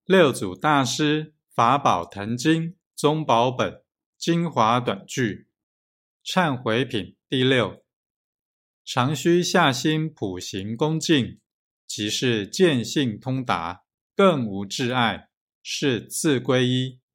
六祖大师法宝坛经宗宝本精华短句忏悔品第6，常须下心普行恭敬，即是见性通达，更无挚爱，是自归依。